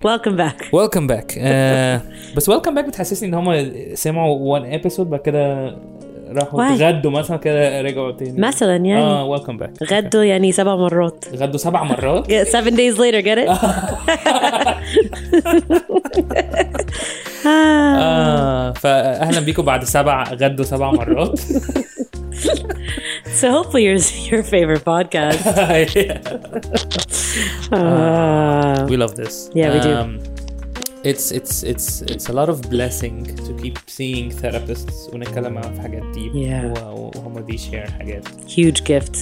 welcome back. بس welcome back بتحسسني ان هم سمعوا one episode بعد كده راحوا غدوا مثلا كده رجعوا تاني مثلا يعني welcome back غدوا يعني 7 مرات. غدوا 7 مرات 7 days later, get it? فأهلا بيكم بعد 7 غدوا 7 مرات. So hopefully your favorite podcast. We love this. Yeah, we do. It's a lot of blessing to keep seeing therapists ونتكلم معاهم في حاجات deep. Yeah. وهم دي share حاجات. Huge gift.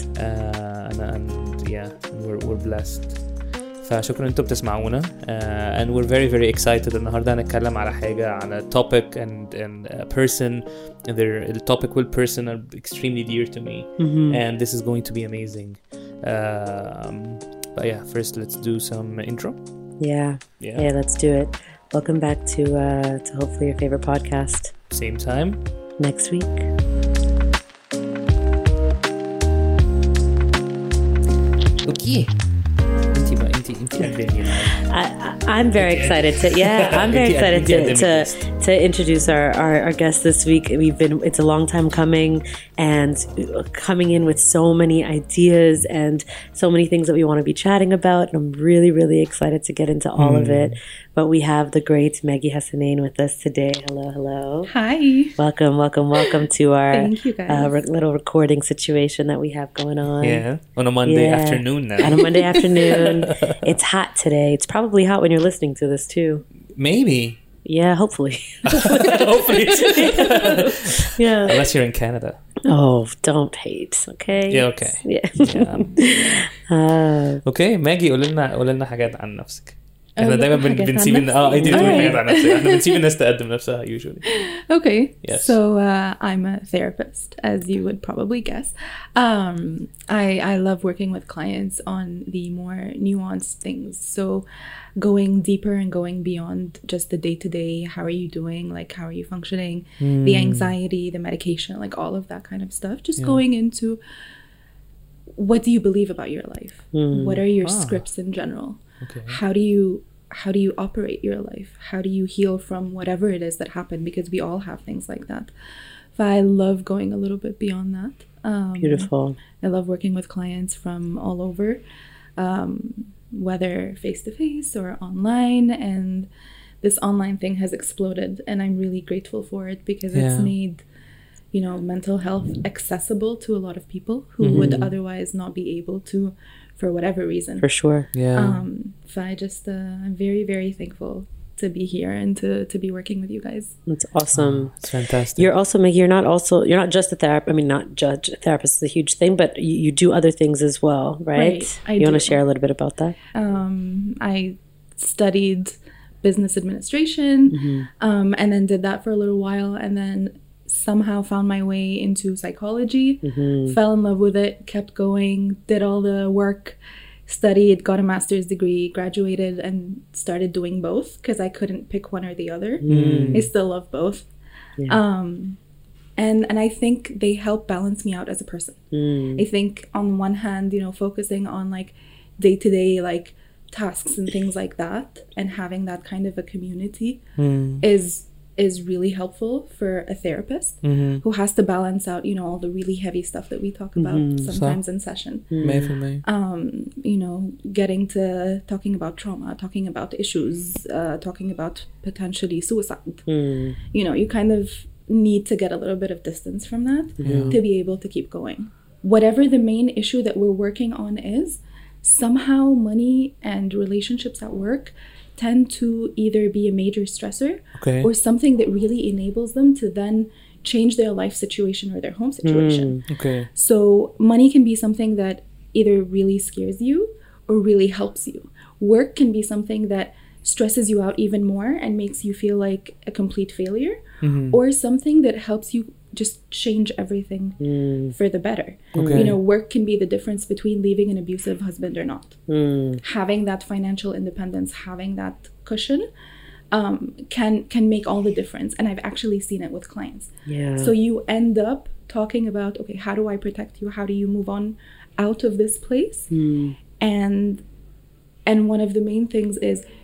We're blessed. فشكرا انتم بتسمعونا and we're very very excited النهارده هنتكلم على حاجه على topic and a person and the topic will person are extremely dear to me and this is going to be amazing. But yeah, first let's do some intro. Yeah, let's do it. Welcome back to hopefully your favorite podcast. Same time next week. Okay. I'm very excited to introduce our guest this week. It's a long time coming and coming in with so many ideas and so many things that we want to be chatting about, and I'm really, really excited to get into all of it. But we have the great Maggie Hassanein with us today. Hello. Hi. Welcome to our Thank you guys. Little recording situation that we have going on. Yeah, on a Monday afternoon now. On a Monday afternoon. It's hot today. It's probably hot when you're listening to this too. Maybe. Yeah, hopefully. Hopefully. Yeah. Unless you're in Canada. Oh, don't hate, okay? Yeah, okay. Yeah. Okay, Maggie, قول لنا حاجات عن نفسك. احنا دايما بنسيب انت تقولي حاجات عن نفسك. احنا بنسيب الناس تقدم نفسها usually. Okay. Yes. So I'm a therapist, as you would probably guess. I love working with clients on the more nuanced things. So going deeper and going beyond just the day-to-day, how are you doing? Like, how are you functioning? The anxiety, the medication, like all of that kind of stuff. Just going into what do you believe about your life? What are your scripts in general? Okay. How do you operate your life? How do you heal from whatever it is that happened? Because we all have things like that. But I love going a little bit beyond that. Beautiful. I love working with clients from all over, whether face-to-face or online. And this online thing has exploded, and I'm really grateful for it because it's made, mental health accessible to a lot of people who would otherwise not be able to, for whatever reason. For sure. Yeah. So I'm very, very thankful to be here and to be working with you guys. That's awesome. It's fantastic. You're also Maggie, you're not just a therapist. I mean, not judge a therapist is a huge thing, but you do other things as well, right? You want to share a little bit about that? I studied business administration, and then did that for a little while, and then somehow found my way into psychology, fell in love with it, kept going, did all the work, studied, got a master's degree, graduated, and started doing both because I couldn't pick one or the other. I still love both. And I think they help balance me out as a person. I think on one hand, focusing on like day-to-day like tasks and things like that, and having that kind of a community is really helpful for a therapist who has to balance out, all the really heavy stuff that we talk about sometimes in session. Getting to talking about trauma, talking about issues, talking about potentially suicide. You kind of need to get a little bit of distance from that to be able to keep going. Whatever the main issue that we're working on is, somehow money and relationships at work tend to either be a major stressor or something that really enables them to then change their life situation or their home situation. So money can be something that either really scares you or really helps you. Work can be something that stresses you out even more and makes you feel like a complete failure, or something that helps you just change everything for the better. Work can be the difference between leaving an abusive husband or not. Having that financial independence, having that cushion, can make all the difference. And I've actually seen it with clients. So you end up talking about, okay, how do I protect you? How do you move on out of this place? And one of the main things is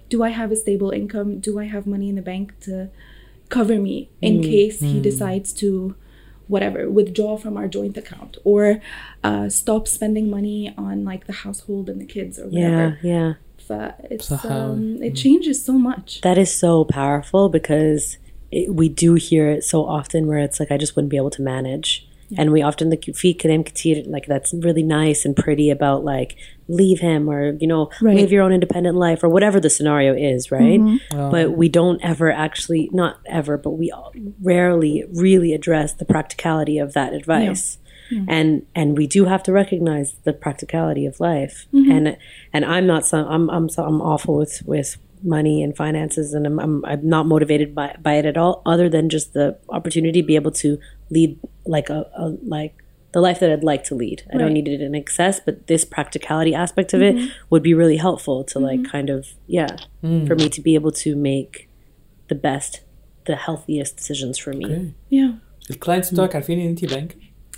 do I have a stable income? Do I have money in the bank to cover me in case he decides to whatever, withdraw from our joint account, or stop spending money on like the household and the kids or whatever. Yeah. It's it changes so much. That is so powerful, because we do hear it so often where it's like, I just wouldn't be able to manage. Yeah. And we often like that's really nice and pretty about like, leave him, or live your own independent life, or whatever the scenario is, right? But we don't ever actually, not ever, but we rarely really address the practicality of that advice. And we do have to recognize the practicality of life. And I'm awful with money and finances, and I'm not motivated by it at all, other than just the opportunity to be able to lead like the life that I'd like to lead. I don't need it in excess, but this practicality aspect of it would be really helpful to like kind of for me to be able to make the healthiest decisions for me. Okay. Yeah. الكلاينتس بتوعك عارفين ان انتي بانكر؟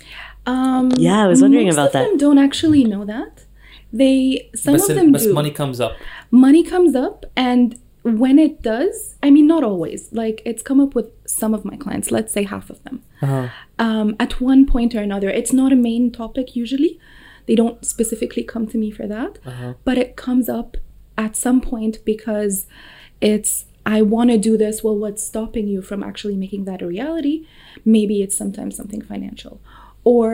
I was wondering about that. Most of them don't actually know that. Some of them do. But money comes up. Money comes up, and when it does, I mean, not always. Like, it's come up with some of my clients, let's say half of them. At one point or another. It's not a main topic usually. They don't specifically come to me for that. But it comes up at some point because it's, I want to do this. Well, what's stopping you from actually making that a reality? Maybe it's sometimes something financial. Or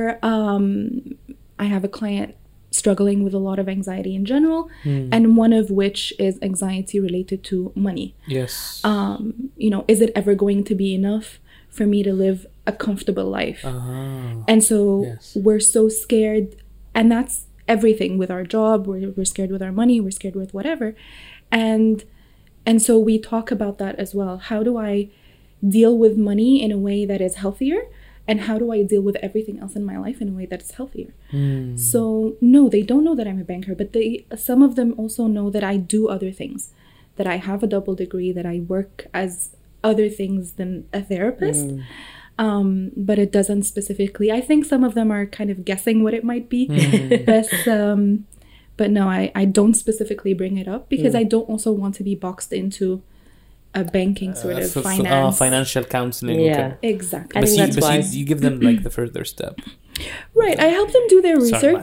I have a client struggling with a lot of anxiety in general, and one of which is anxiety related to money. Yes. Is it ever going to be enough for me to live a comfortable life? And so we're so scared, and that's everything with our job. We're scared with our money. We're scared with whatever. And so we talk about that as well. How do I deal with money in a way that is healthier? And how do I deal with everything else in my life in a way that is healthier? So no, they don't know that I'm a banker, but some of them also know that I do other things, that I have a double degree, that I work as other things than a therapist. But it doesn't specifically. I think some of them are kind of guessing what it might be. But no, I don't specifically bring it up because I don't also want to be boxed into a banking sort of financial counseling. Exactly. I think that's why you give them like the further step. Right. I help them do their research.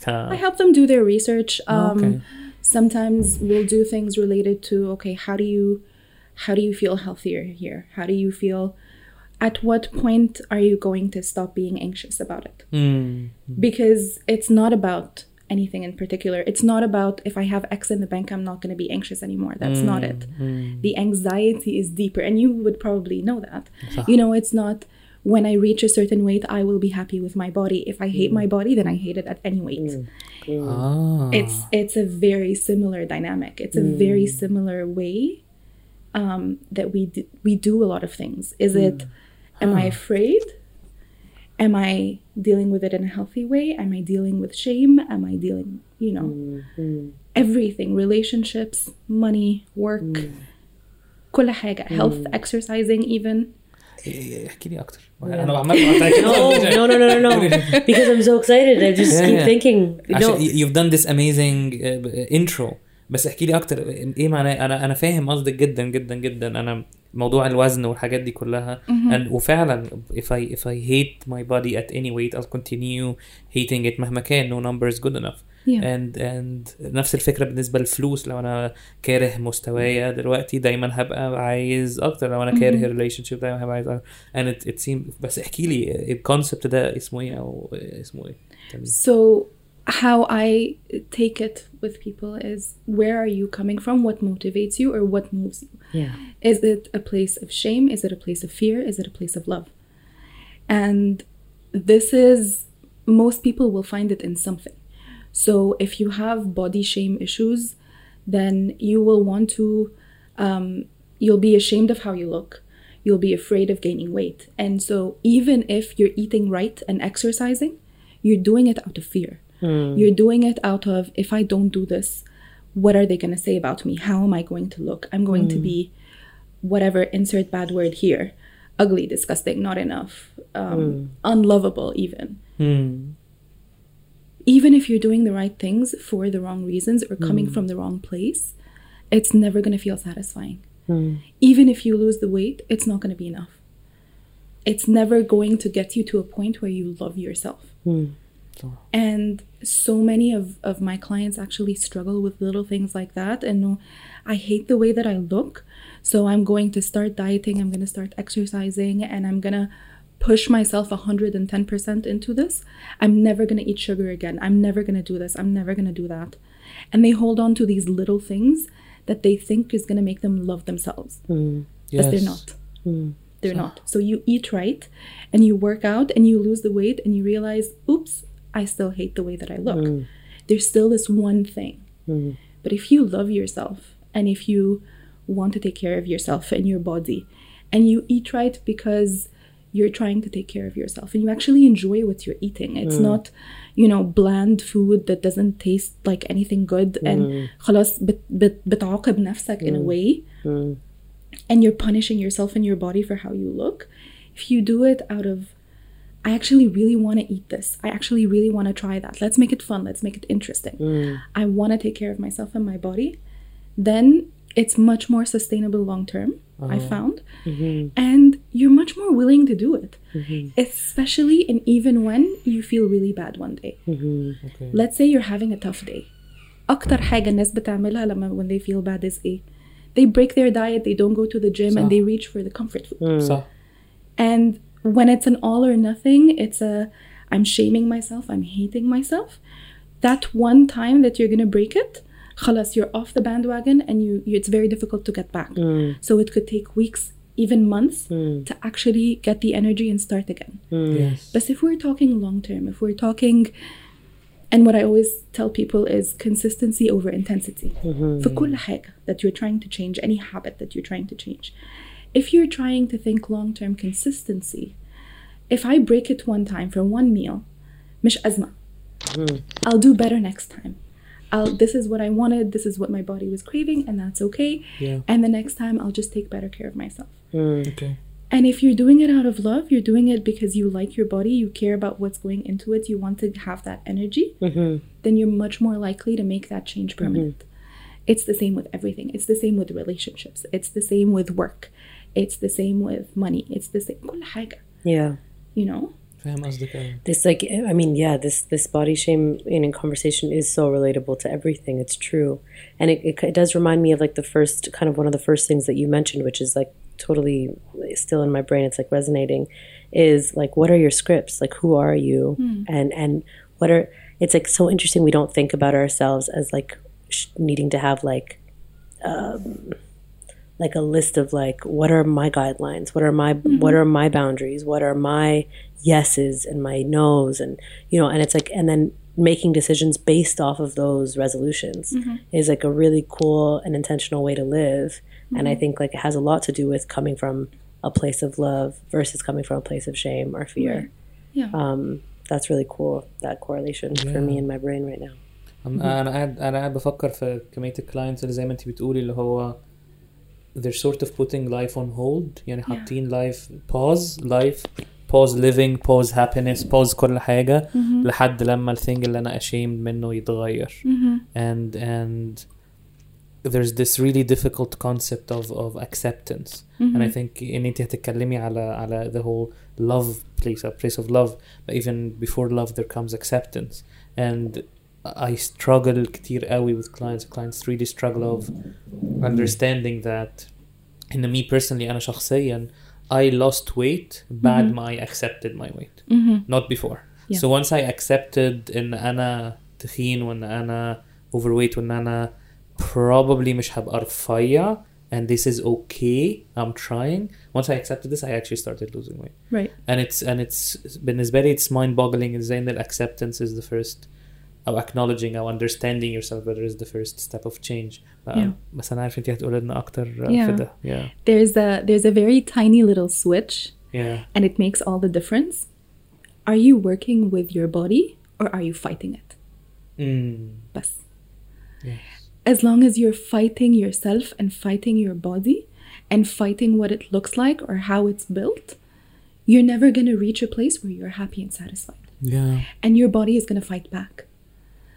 Sometimes we'll do things related to, okay, how do you feel healthier here? How do you feel? At what point are you going to stop being anxious about it? Because it's not about anything in particular. It's not about if I have X in the bank, I'm not going to be anxious anymore. That's not it. The anxiety is deeper, and you would probably know that. It's not when I reach a certain weight, I will be happy with my body. If I hate my body, then I hate it at any weight. It's a very similar dynamic. It's a very similar way that we do a lot of things. Is it, am I afraid? Am I dealing with it in a healthy way? Am I dealing with shame? Am I dealing, everything, relationships, money, work, كل حاجة, health, exercising even. احكي لي أكتر. No. Because I'm so excited. I just keep thinking. You've done this amazing intro. بس احكي لي أكتر إيه معناه. أنا فاهم قصدك جدا جدا جدا. أنا موضوع الوزن والحاجات دي كلها وفعلا if I hate my body at any weight I'll continue hating it مهما كان. No number is good enough. and نفس الفكرة بالنسبة للفلوس. لو أنا كاره مستوايا دلوقتي دايما هبقى عايز أكتر. لو أنا كاره relationship دايما هبقى عايز أكتر. and it seems. بس احكي لي الكونسبت ده اسمه إيه أو اسمه إيه. So how I take it with people is, where are you coming from? What motivates you or what moves you? Is it a place of shame? Is it a place of fear? Is it a place of love? And this is, most people will find it in something. So if you have body shame issues, then you will want to, you'll be ashamed of how you look. You'll be afraid of gaining weight. And so even if you're eating right and exercising, you're doing it out of fear. You're doing it out of, if I don't do this, what are they going to say about me? How am I going to look? I'm going to be whatever, insert bad word here. Ugly, disgusting, not enough, unlovable even. Even if you're doing the right things for the wrong reasons or coming from the wrong place, it's never going to feel satisfying. Even if you lose the weight, it's not going to be enough. It's never going to get you to a point where you love yourself. And so many of my clients actually struggle with little things like that. And I hate the way that I look, so I'm going to start dieting, I'm going to start exercising, and I'm going to push myself 110% into this. I'm never going to eat sugar again. I'm never going to do this. I'm never going to do that. And they hold on to these little things that they think is going to make them love themselves. But they're not. They're not. So you eat right and you work out and you lose the weight and you realize, oops, I still hate the way that I look. There's still this one thing. But if you love yourself and if you want to take care of yourself and your body and you eat right because you're trying to take care of yourself and you actually enjoy what you're eating. It's not, bland food that doesn't taste like anything good and خلاص بتعاقب نفسك in a way. And you're punishing yourself and your body for how you look. If you do it out of, I actually really want to eat this. I actually really want to try that. Let's make it fun. Let's make it interesting. I want to take care of myself and my body. Then it's much more sustainable long term, I found. And you're much more willing to do it. Especially and even when you feel really bad one day. Okay. Let's say you're having a tough day. أكتر حاجة الناس بتعملها لما when they feel bad is إيه? They break their diet, they don't go to the gym, and they reach for the comfort food. And when it's an all or nothing, it's I'm shaming myself, I'm hating myself. That one time that you're going to break it, خلاص, you're off the bandwagon and it's very difficult to get back. So it could take weeks, even months, to actually get the energy and start again. Yes. But if we're talking long term, if we're talking... And what I always tell people is consistency over intensity. For كل حاجة that you're trying to change, any habit that you're trying to change. If you're trying to think long-term consistency, if I break it one time for one meal, مش أزمة. I'll do better next time. This is what I wanted, this is what my body was craving, and that's okay. And the next time I'll just take better care of myself. Okay. And if you're doing it out of love, you're doing it because you like your body, you care about what's going into it, you want to have that energy, then you're much more likely to make that change permanent. It's the same with everything. It's the same with relationships. It's the same with work. It's the same with money. It's the same. كل حاجة. Yeah. فاهم قصدك. This this body shame in conversation is so relatable to everything. It's true. And it does remind me of like the first, kind of one of the first things that you mentioned, which is like totally still in my brain. It's like resonating, is like, what are your scripts? Like, who are you? And what are, it's like so interesting. We don't think about ourselves as like needing to have like a list of like, what are my guidelines? What are my boundaries? What are my yeses and my nos? And, and it's like, and then making decisions based off of those resolutions is like a really cool and intentional way to live. And I think like it has a lot to do with coming from a place of love versus coming from a place of shame or fear. That's really cool, that correlation for me in my brain right now. أنا قاعد بفكر في كمية الكلاينتس اللي زي ما أنتي بتقولي اللي هو they're sort of putting life on hold, يعني حاطين life pause living, pause happiness, pause كل حاجة لحد لما الثينج اللي أنا ashamed منه يتغير. And there's this really difficult concept of acceptance. And I think إن أنتي هتتكلمي على the whole love place of love, but even before love there comes acceptance. And I struggle كتير قوي with clients really struggle of understanding that. In me personally, أنا شخصيا I lost weight بعد ما I accepted my weight, not before. So once I accepted إن أنا تخين وإن أنا overweight وإن أنا probably مش هبقى رفيع and this is okay, I'm trying. Once I accepted this, I actually started losing weight. Right. And it's بالنسبة لي it's mind-boggling إزاي إن acceptance is the first. أو acknowledging أو understanding yourself better is the first step of change. بس أنا عارف أنتي هتقولي لنا أكتر في ده. There's a very tiny little switch. And it makes all the difference. Are you working with your body or are you fighting it? بس. Yes. As long as you're fighting yourself and fighting your body and fighting what it looks like or how it's built, you're never going to reach a place where you're happy and satisfied. And your body is going to fight back.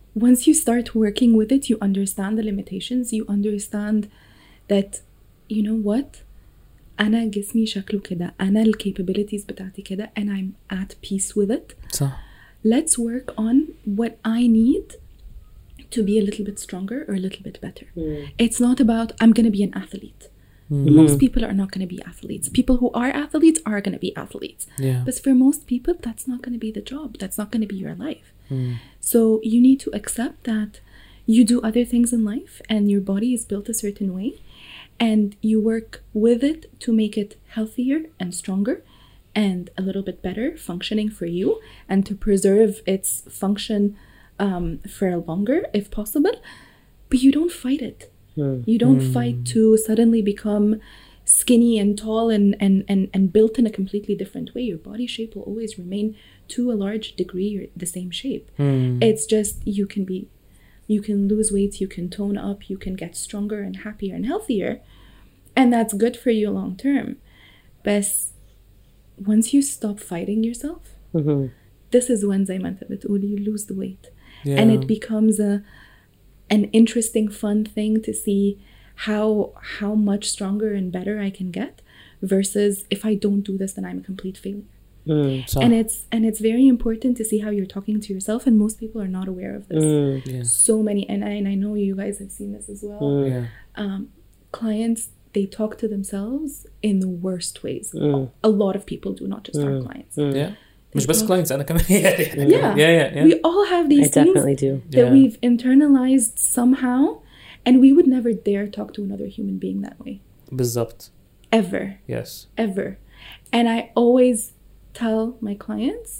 once you start working with it, you understand the limitations. You understand that, you know what, أنا جسمي شكله كده, أنا ال capabilities بتاعتي كده, and I'm at peace with it. صح. Let's work on what I need to be a little bit stronger or a little bit better. It's not about I'm going to be an athlete. Most people are not going to be athletes. People who are athletes are going to be athletes. Yeah. But for most people, that's not going to be the job. That's not going to be your life. So you need to accept that you do other things in life and your body is built a certain way, and you work with it to make it healthier and stronger and a little bit better functioning for you, and to preserve its function for longer if possible. But you don't fight it. You don't fight to suddenly become skinny and tall and built in a completely different way. Your body shape will always remain, to a large degree, the same shape. It's just you can lose weight, you can tone up, you can get stronger and happier and healthier, and that's good for you long term. But once you stop fighting yourself, this is when زي ما انت بتقول, you lose the weight. Yeah. And it becomes an interesting, fun thing to see how much stronger and better I can get, versus if I don't do this, then I'm a complete failure. صح. And it's very important to see how you're talking to yourself, and most people are not aware of this. Yeah. So many, and I know you guys have seen this as well. Yeah. Clients, they talk to themselves in the worst ways. A lot of people do, not just our clients. Yeah. مش بس clients, أنا كمان. Yeah. We all have these I things definitely do. that Yeah. we've internalized somehow, and we would never dare talk to another human being that way. بالضبط. Ever. Yes. Ever. And I always tell my clients,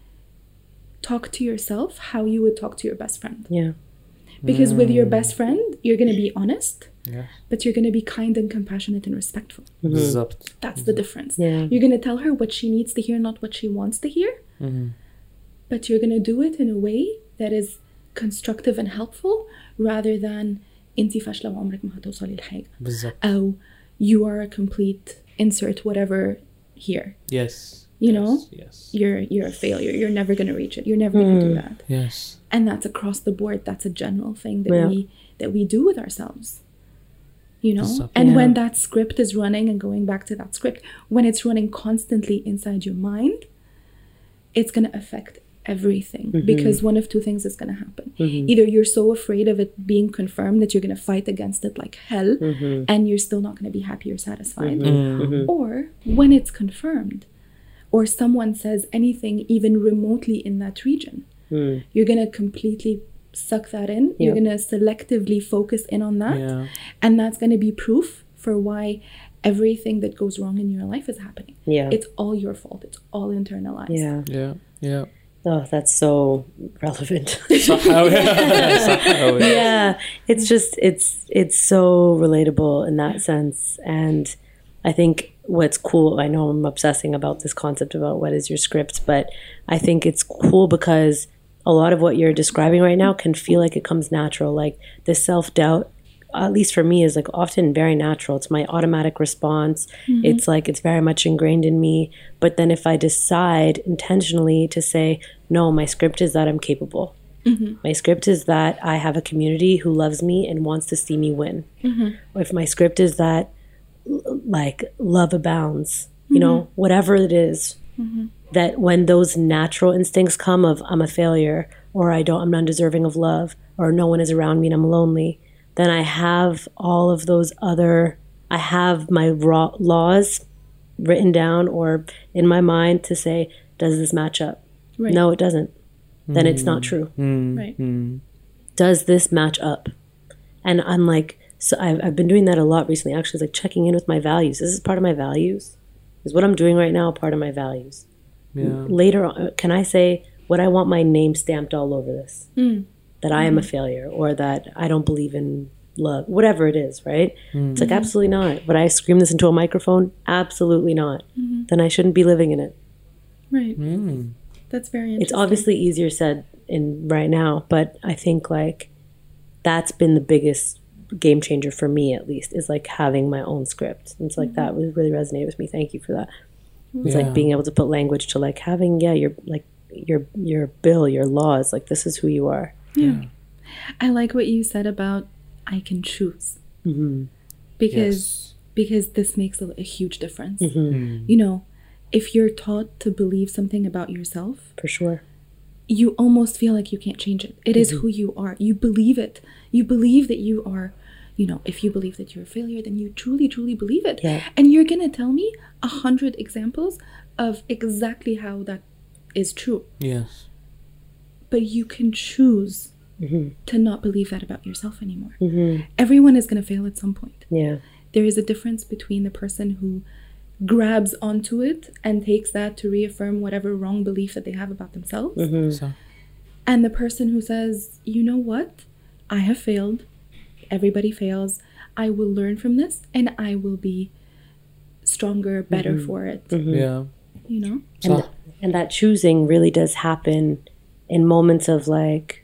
talk to yourself how you would talk to your best friend. Yeah. Because with your best friend, you're going to be honest, Yeah. but you're going to be kind and compassionate and respectful. بالضبط. That's the difference. Yeah. You're going to tell her what she needs to hear, not what she wants to hear. But you're going to do it in a way that is constructive and helpful, rather than انتي فاشلة وعمرك ما هتوصلي لحاجة. بالضبط. أو you are a complete insert whatever here. Yes. You know? Yes. You're a failure. You're never going to reach it. You're never going to do that. Yes. And that's across the board. That's a general thing that we do with ourselves. You know? Exactly. And Yeah. when that script is running, and going back to that script, when it's running constantly inside your mind, it's going to affect everything, because one of two things is going to happen. Either you're so afraid of it being confirmed that you're going to fight against it like hell, and you're still not going to be happy or satisfied. Or when it's confirmed, or someone says anything even remotely in that region, you're going to completely suck that in. You're going to selectively focus in on that. Yeah. And that's going to be proof for why everything that goes wrong in your life is happening. Yeah. It's all your fault. It's all internalized. Yeah. Yeah. Yeah. Oh, that's so relevant. صح أوي. صح أوي. Yeah, it's just it's so relatable in that sense. And I think what's cool, I know I'm obsessing about this concept about what is your script, but I think it's cool because a lot of what you're describing right now can feel like it comes natural. Like the self-doubt, at least for me, is like often very natural. It's my automatic response. It's like it's very much ingrained in me. But then if I decide intentionally to say, no, my script is that I'm capable. My script is that I have a community who loves me and wants to see me win. Or if my script is that like love abounds, you know, whatever it is, that when those natural instincts come of I'm a failure, or I'm undeserving of love, or no one is around me and I'm lonely, then I have all of those I have my laws written down or in my mind to say, does this match up? Right. No, it doesn't. Then it's not true. Right. Does this match up? And I'm like, so I've been doing that a lot recently. Actually, it's like checking in with my values. This is part of my values. Is what I'm doing right now a part of my values? Yeah. Later on, can I say, would I want my name stamped all over this? That I am a failure, or that I don't believe in love, whatever it is, right? It's like, absolutely not. Would I scream this into a microphone? Absolutely not. Then I shouldn't be living in it. Right. That's very interesting. It's obviously easier said in right now, but I think like that's been the biggest game changer for me, at least, is like having my own script. And it's like that really resonated with me. Thank you for that. It's like being able to put language to like having your bill, your laws, like this is who you are. Yeah. I like what you said about I can choose. Mm-hmm. Because this makes a huge difference. Mm-hmm. You know, if you're taught to believe something about yourself, For sure. you almost feel like you can't change it. It is who you are. You believe it. You believe that you are, you know, if you believe that you're a failure, then you truly, truly believe it. Yeah. And you're going to tell me 100 examples of exactly how that is true. Yes. But you can choose Mm-hmm. to not believe that about yourself anymore. Mm-hmm. Everyone is going to fail at some point. Yeah. There is a difference between the person who grabs onto it and takes that to reaffirm whatever wrong belief that they have about themselves, Mm-hmm. So, and the person who says, you know what, I have failed, everybody fails, I will learn from this and I will be stronger, better for it. yeah. You know? And, and that choosing really does happen in moments of like,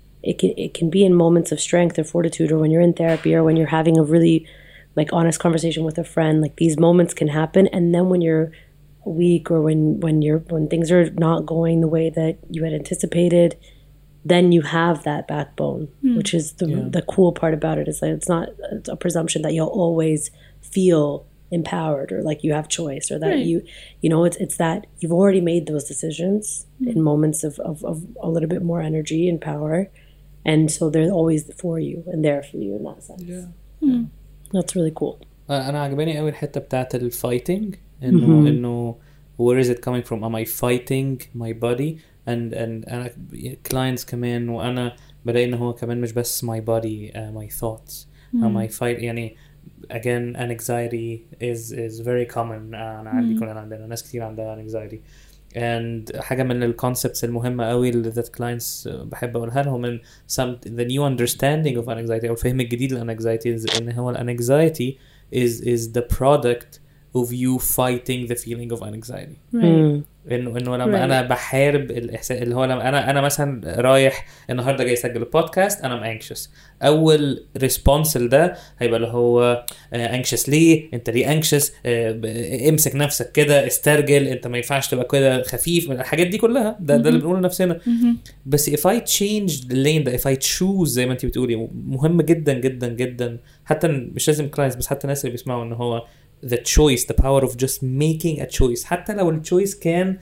it can be in moments of strength or fortitude, or when you're in therapy, or when you're having a really like honest conversation with a friend. Like these moments can happen, and then when you're weak, or when things are not going the way that you had anticipated, then you have that backbone, which is the cool part about it. Is that it's a presumption that you'll always feel empowered, or like you have choice, or that Right. you know, it's that you've already made those decisions in moments of a little bit more energy and power, and so they're always for you and there for you in that sense. Yeah. That's really cool. انا عجباني قوي الحته بتاعت الفايتنج انه where is it coming from, am I fighting my body and انا clients كمان وانا بلاقي ان هو كمان مش بس my body, my thoughts, am I fight يعني again anxiety is very common. انا عندي كلنا عندنا ناس كتير عندها anxiety, and حاجه من الكونسبتس المهمه قوي اللي that clients بحب اقولها لهم ان the new understanding of anxiety او الفهم الجديد للanxiety ان هو anxiety is the product of you fighting the feeling of anxiety. Right. انه لما انا بحارب الاحساس اللي هو لما انا مثلا رايح النهارده جاي اسجل البودكاست انا anxious, اول ريسبونس لده هيبقى اللي هو anxious ليه انت ليه anxious, امسك نفسك كده, استرجل, انت ما ينفعش تبقى كده خفيف, الحاجات دي كلها ده اللي بنقوله لنفسنا. بس if I change the lane ده, if I choose زي ما انت بتقولي, مهم جدا جدا جدا, حتى مش لازم clients بس حتى الناس اللي بيسمعوا ان هو the choice, the power of just making a choice, حتى لو الchoice كان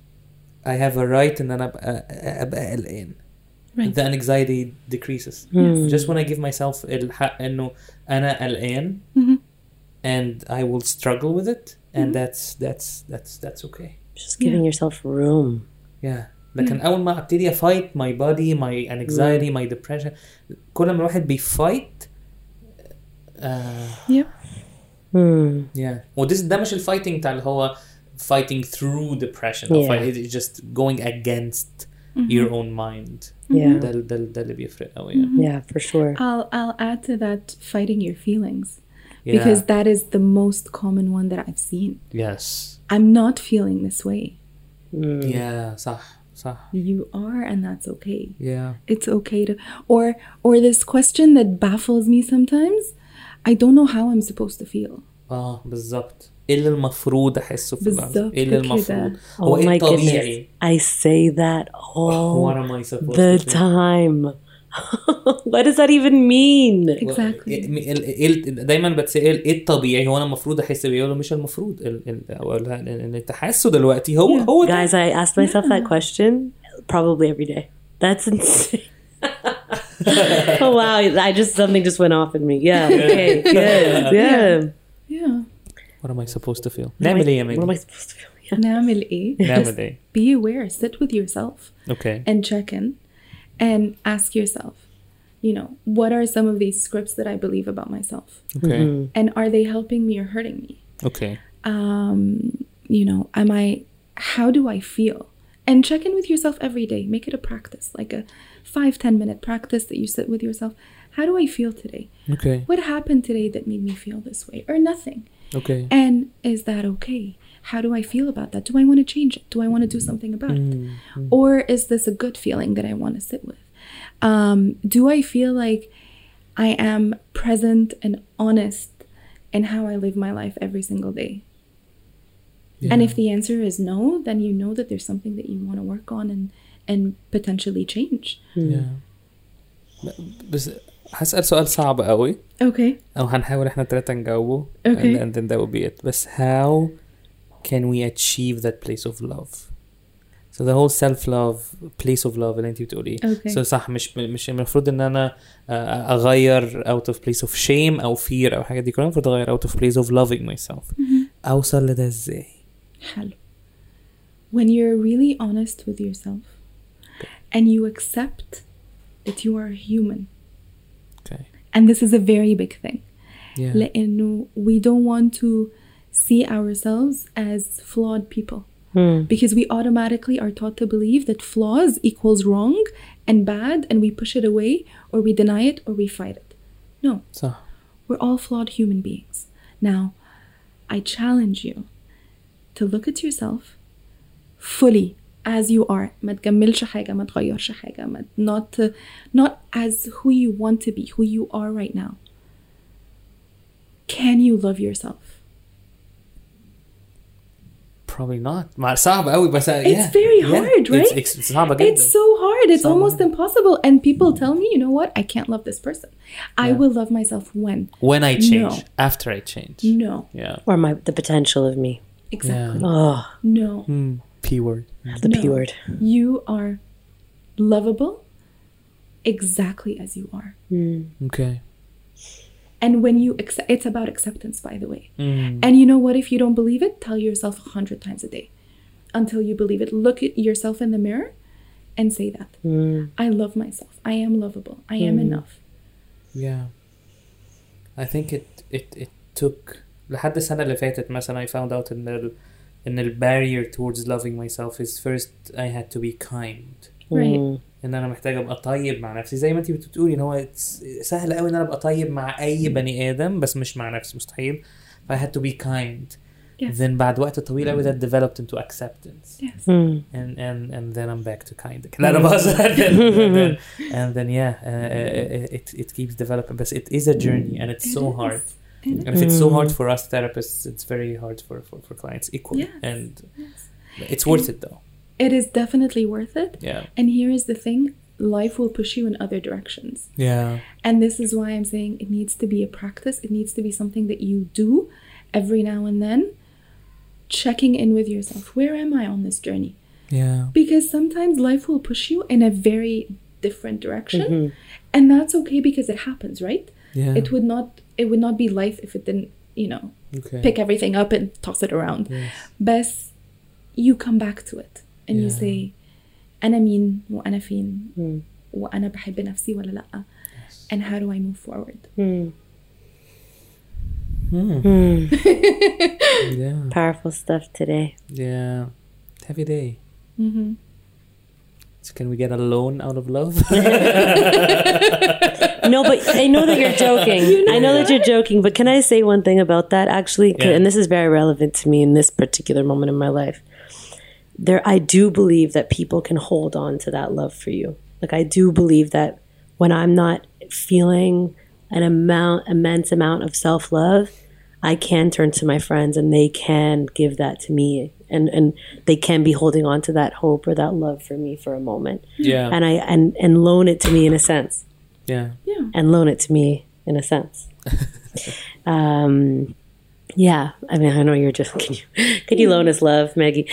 I have a right ان انا ابقى قلقان, Right. the anxiety decreases. Just when I give myself الحق انه انا قلقان and I will struggle with it, and that's okay. Just giving yourself room. Yeah. لكن اول ما ابتدي fight my body, my anxiety, my depression, كل ما الواحد بيفايت Yep. yeah. ده مش الفايتنج بتاع اللي هو fighting through depression, or it's just going against your own mind. Yeah. ده اللي بيفرق قوي. Yeah, for sure. I'll add to that fighting your feelings. Yeah. Because that is the most common one that I've seen. Yes. I'm not feeling this way. Yeah, صح. You are, and that's okay. Yeah. It's okay to, or this question that baffles me sometimes. I don't know how I'm supposed to feel. بالظبط. ايه اللي المفروض احسه في اللحظة؟ ايه اللي المفروض؟ Oh my goodness. I say that all What am I supposed the to feel? time. What does that even mean? Exactly. دايما بتسأل ايه الطبيعي, هو انا المفروض احس بيه ولا مش المفروض, اللي انت حاسه دلوقتي هو Guys, I ask myself that question probably every day. That's insane. Oh wow, something just went off in me. Yeah, okay, good. Yeah. What am I supposed to feel? نعمل ايه يا What am ميجي؟ I supposed to feel? Yeah. نعمل ايه? نعمل ايه؟ Be aware. Sit with yourself Okay. and check in and ask yourself, you know, what are some of these scripts that I believe about myself? Okay. And are they helping me or hurting me? Okay. You know, how do I feel? And check in with yourself every day. Make it a practice, like a 5-10 minute practice that you sit with yourself. How do I feel today? Okay. What happened today that made me feel this way? Or nothing. Okay. And is that okay? How do I feel about that? Do I want to change it? Do I want to do something about it? Or is this a good feeling that I want to sit with? Do I feel like I am present and honest in how I live my life every single day? Yeah. And if the answer is no, then you know that there's something that you want to work on and potentially change. Yeah. بس هسأل سؤال صعب قوي Okay. أو هنحاول إحنا الثلاثة نجاوبه Okay. and then that will be it. بس how can we achieve that place of love? So the whole self-love, place of love اللي انتي بتقوليه. Okay. So صح مش المفروض ان انا اغير out of place of shame او fear او حاجة دي كلها. المفروض اغير out of place of loving myself. اوصل لده ازاي؟ حلو. When you're really honest with yourself and you accept that you are human. Okay. And this is a very big thing. Yeah. لأنه we don't want to see ourselves as flawed people. Because we automatically are taught to believe that flaws equals wrong and bad, and we push it away or we deny it or we fight it. No. صح. We're all flawed human beings. Now, I challenge you to look at yourself fully as you are. ما تجملش حاجة, ما تغيرش حاجة, not as who you want to be, who you are right now. Can you love yourself? Probably not. صعب قوي بس It's very hard, right? It's صعبة جدا. It's so hard. It's almost impossible. And people tell me, you know what? I can't love this person. I will love myself when When I change. No. After I change. No. Yeah. Or the potential of me. Exactly. Oh, No. P word. the No. P word. You are lovable exactly as you are. Okay. And when you accept, it's about acceptance, by the way. And you know what? If you don't believe it, tell yourself 100 times a day until you believe it. Look at yourself in the mirror and say that. I love myself. I am lovable. I am enough. Yeah. I think it took لحد السنة اللي فاتت مثلا I found out in the barrier towards loving myself is first I had to be kind. Right. ان انا محتاج ابقى طيب مع نفسي زي ما انتي بتقولي ان هو سهل قوي ان انا ابقى طيب مع اي بني ادم بس مش مع نفسي مستحيل. I had to be kind. Yes. Then بعد وقت طويل قوي that developed into acceptance. Yes. And then I'm back to kind. لا أنا and then yeah it keeps developing but it is a journey and it's so hard. And if it's so hard for us therapists, it's very hard for clients equally. Yes. And it's worth it though. It is definitely worth it. Yeah. And here is the thing. Life will push you in other directions. Yeah. And this is why I'm saying it needs to be a practice. It needs to be something that you do every now and then. Checking in with yourself. Where am I on this journey? Yeah. Because sometimes life will push you in a very different direction. And that's okay because it happens, right? Yeah. It would not be life if it didn't, Okay. pick everything up and toss it around. Yes. But you come back to it and you Yeah. say أنا مين وأنا فين وأنا بحب نفسي ولا لأ. And how do I move forward? Yeah. Powerful stuff today. Yeah. Heavy day. So can we get a loan out of love? No, but I know that you're joking. I know that you're joking, but can I say one thing about that actually? Yeah. And this is very relevant to me in this particular moment in my life. I do believe that people can hold on to that love for you. Like I do believe that when I'm not feeling an immense amount of self-love, I can turn to my friends and they can give that to me. And they can be holding on to that hope or that love for me for a moment. Yeah. And loan it to me in a sense. Yeah. Yeah. And loan it to me in a sense. Yeah. I mean, I know you're just, could you loan us love, Maggie?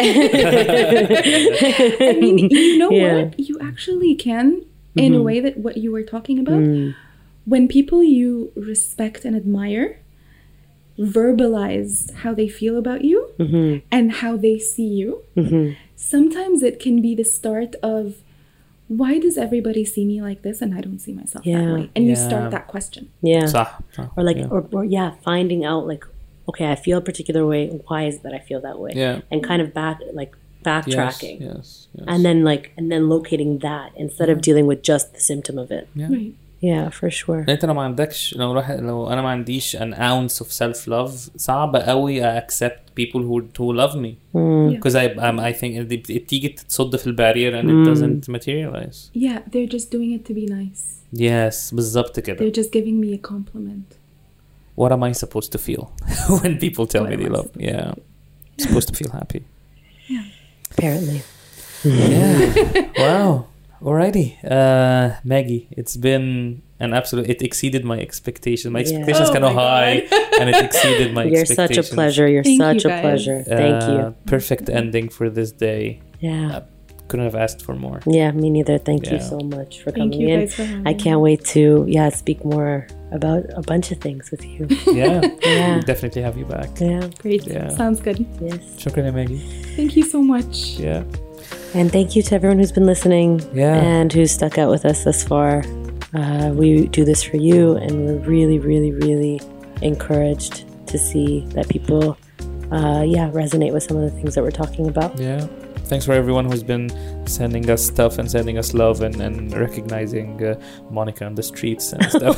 I mean, you know Yeah. what? You actually can in a way that what you were talking about. When people you respect and admire verbalize how they feel about you and how they see you, sometimes it can be the start of why does everybody see me like this and I don't see myself that way? And you start that question. Yeah. صح. Or like, or finding out like, okay, I feel a particular way. Why is it that I feel that way? Yeah. And kind of backtracking. Yes. And then locating that instead of dealing with just the symptom of it. Yeah. Right. Yeah, for sure. انت لو ما عندكش لو انا ما عنديش an ounce of self love صعب قوي accept people who love me because I think تيجي تصد في البارير and it doesn't materialize. Yeah, they're just doing it to be nice. Yes, بالظبط كده. They're just giving me a compliment. What am I supposed to feel when people tell me they love me? Yeah, I'm supposed to feel happy. Yeah. Apparently. Yeah. Wow. Alrighty, Maggie, it's been an absolute. It exceeded my expectations. My expectations kind of high, and it exceeded my expectations. You're such a pleasure. You're such a pleasure. Thank you. Perfect ending for this day. Yeah. Couldn't have asked for more. Yeah, me neither. Thank you so much for coming in. Guys for having I can't wait to speak more about a bunch of things with you. Yeah. We'll definitely have you back. Yeah. Great. Yeah. Sounds good. Yes. Shukran, Maggie. Thank you so much. Yeah. And thank you to everyone who's been listening and who's stuck out with us thus far. We do this for you, and we're really, really, really encouraged to see that people resonate with some of the things that we're talking about. Yeah. Thanks for everyone who's been sending us stuff and sending us love and recognizing Monica on the streets and stuff.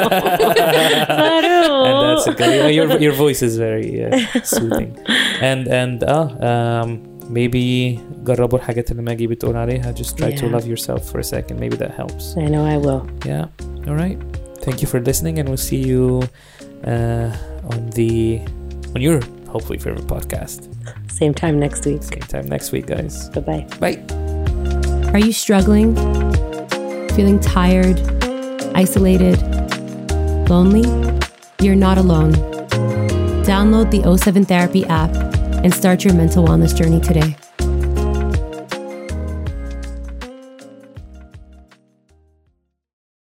And that's it. Your voice is very soothing. And maybe جربوا الحاجات اللي ماجي بتقول عليها. Just try to love yourself for a second. Maybe that helps. I know I will. Yeah. All right. Thank you for listening, and we'll see you on your hopefully favorite podcast. Same time next week. Same time next week, guys. Bye-bye. Bye. Are you struggling? Feeling tired? Isolated? Lonely? You're not alone. Download the O7 Therapy app and start your mental wellness journey today.